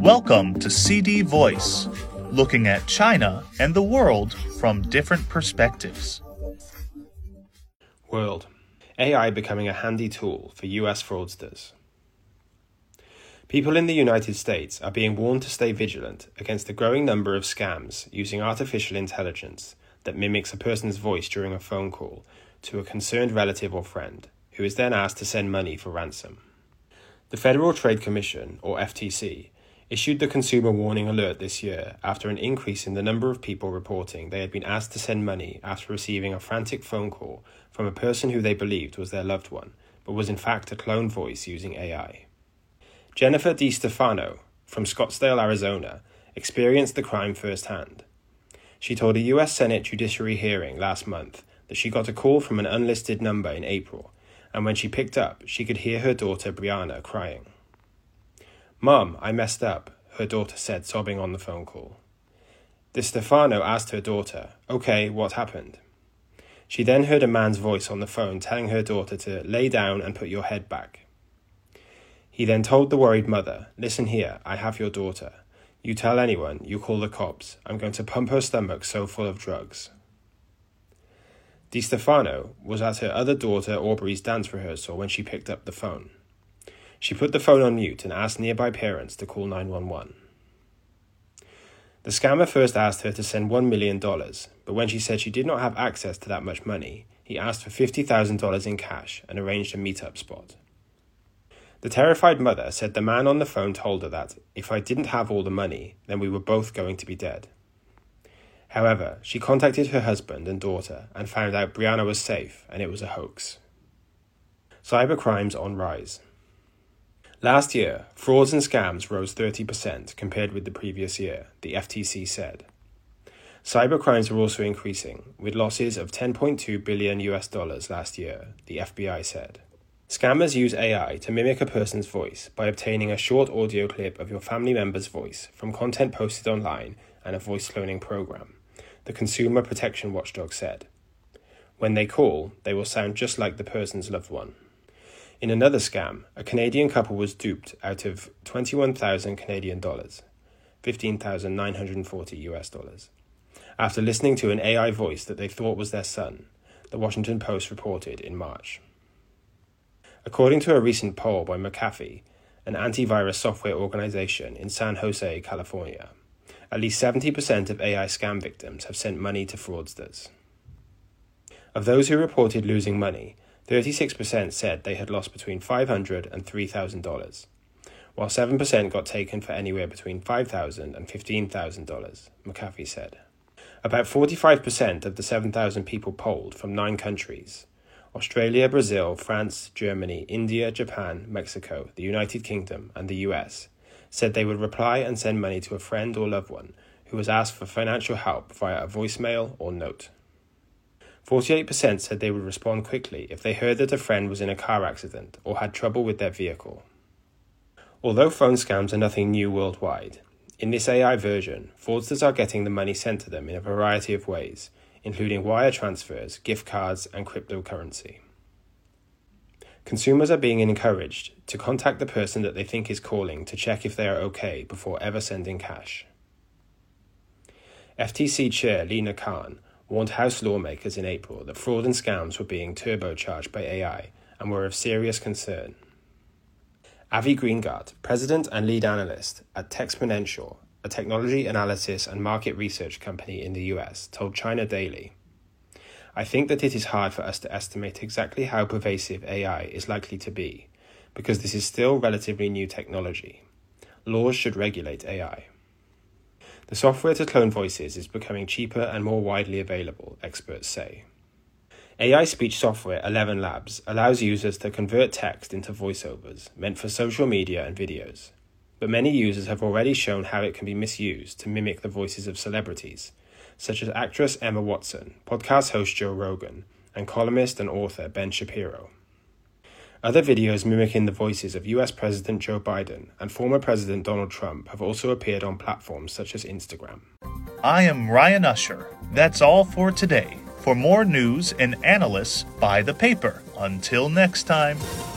Welcome to CD Voice, looking at China and the world from different perspectives. World. AI becoming a handy tool for US fraudsters. People in the United States are being warned to stay vigilant against the growing number of scams using artificial intelligence that mimics a person's voice during a phone call to a concerned relative or friend, who is then asked to send money for ransom. The Federal Trade Commission, or FTC, issued the consumer warning alert this year after an increase in the number of people reporting they had been asked to send money after receiving a frantic phone call from a person who they believed was their loved one, but was in fact a cloned voice using AI. Jennifer DiStefano, from Scottsdale, Arizona, experienced the crime firsthand. She told a U.S. Senate Judiciary hearing last month that she got a call from an unlisted number in April, and when she picked up, she could hear her daughter Brianna crying. "Mom, I messed up," her daughter said, sobbing on the phone call. DiStefano asked her daughter, "Okay, what happened?" She then heard a man's voice on the phone telling her daughter to lay down and put your head back. He then told the worried mother, "Listen here, I have your daughter. You tell anyone, you call the cops. I'm going to pump her stomach so full of drugs." DiStefano was at her other daughter Aubrey's dance rehearsal when she picked up the phone. She put the phone on mute and asked nearby parents to call 911. The scammer first asked her to send $1 million, but when she said she did not have access to that much money, he asked for $50,000 in cash and arranged a meet-up spot. The terrified mother said the man on the phone told her that, if I didn't have all the money, then we were both going to be dead. However, she contacted her husband and daughter and found out Brianna was safe and it was a hoax. Cybercrimes on rise. Last year, frauds and scams rose 30% compared with the previous year, the FTC said. Cybercrimes are also increasing, with losses of $10.2 billion last year, the FBI said. Scammers use AI to mimic a person's voice by obtaining a short audio clip of your family member's voice from content posted online and a voice cloning program, the Consumer Protection Watchdog said. When they call, they will sound just like the person's loved one. In another scam, a Canadian couple was duped out of 21,000 Canadian dollars, $15,940 after listening to an AI voice that they thought was their son, the Washington Post reported in March. According to a recent poll by McAfee, an antivirus software organization in San Jose, California, at least 70% of AI scam victims have sent money to fraudsters. Of those who reported losing money, 36% said they had lost between $500 and $3,000, while 7% got taken for anywhere between $5,000 and $15,000, McAfee said. About 45% of the 7,000 people polled from 9 countries, Australia, Brazil, France, Germany, India, Japan, Mexico, the United Kingdom, and the US, said they would reply and send money to a friend or loved one who was asked for financial help via a voicemail or note. 48% said they would respond quickly if they heard that a friend was in a car accident or had trouble with their vehicle. Although phone scams are nothing new worldwide, in this AI version, fraudsters are getting the money sent to them in a variety of ways, including wire transfers, gift cards, and cryptocurrency. Consumers are being encouraged to contact the person that they think is calling to check if they are okay before ever sending cash. FTC Chair Lina Khan warned House lawmakers in April that fraud and scams were being turbocharged by AI and were of serious concern. Avi Greengart, president and lead analyst at Texponential, a technology analysis and market research company in the US, told China Daily, "I think that it is hard for us to estimate exactly how pervasive AI is likely to be, because this is still relatively new technology. Laws should regulate AI. The software to clone voices is becoming cheaper and more widely available, experts say. AI speech software 11 Labs allows users to convert text into voiceovers meant for social media and videos, but many users have already shown how it can be misused to mimic the voices of celebrities, such as actress Emma Watson, podcast host Joe Rogan, and columnist and author Ben Shapiro. Other videos mimicking the voices of US President Joe Biden and former President Donald Trump have also appeared on platforms such as Instagram." I am Ryan Usher. That's all for today. For more news and analysis, buy the paper. Until next time.